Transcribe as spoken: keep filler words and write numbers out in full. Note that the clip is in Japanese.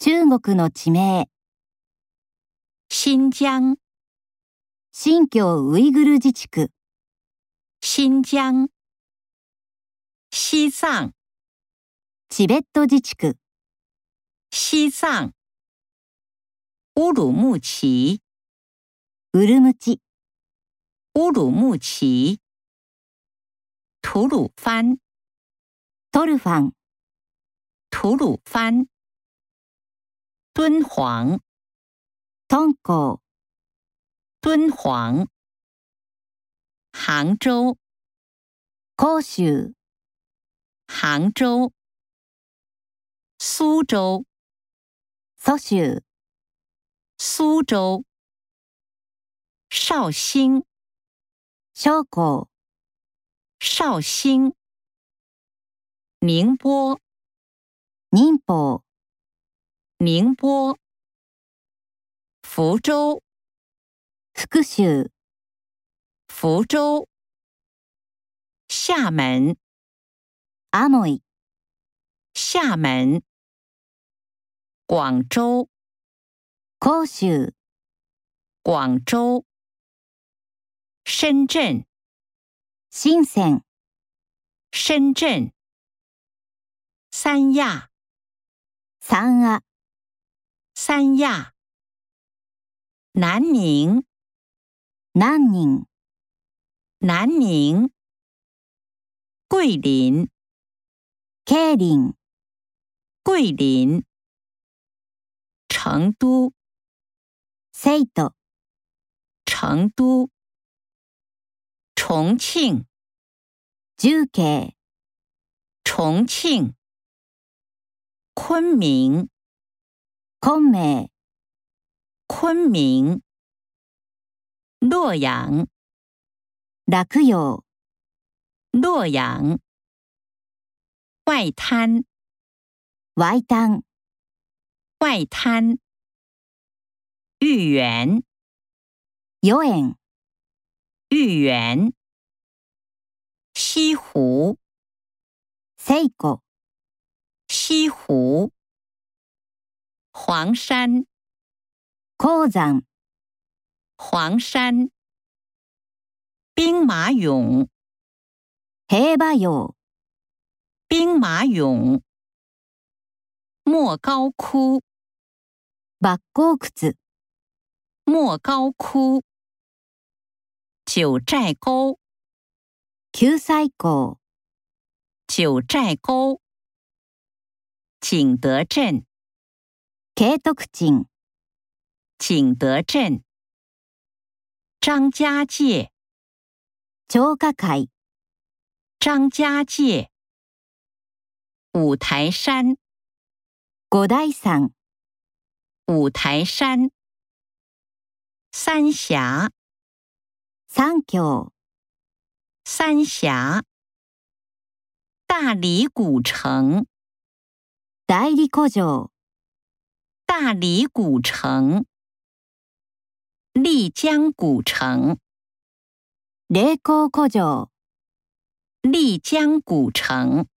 中国の地名。 新疆、 新疆ウイグル自治区。 新疆。西藏、 チベット自治区。 西藏。乌鲁木齐、 ウルムチ。 乌鲁木齐。吐鲁番、 トルファン。 吐鲁番。敦煌、 敦煌。 敦煌。杭州、 広州。 杭州。苏州、 蘇州。 苏州。绍兴、 紹興。 绍兴。宁波、 寧波。 宁波。福州、 福州。 福州。厦门、 厦門。 厦門。廣州、 広州。 廣州。深圳、 深圳。 深圳。三亞、 三亞。 三亞。南寧、 南寧。 南寧。桂林、 桂林。 桂林。成都、 成都。 成都。重慶、 重慶。 重慶。昆明、 昆明。 昆明。洛陽、 洛陽。 洛陽。外灘、 外灘。 外灘。豫園、 豫園。 豫園。西湖、 西湖。 西湖。黃山、 鉱山。 黃山。兵馬俑、 兵馬俑。 兵馬俑。莫高窟、 莫高窟。 莫高窟。九寨溝、 九寨溝。 九寨溝。景德鎮、 景徳鎮。 景德鎮。張家界、 張家界。 張家界。五台山、 五台山。 五台山。三峽、 三峡。 三峽。大理古城、 大理古城。 大理古城。麗江古城、 麗江古城。 麗江古城。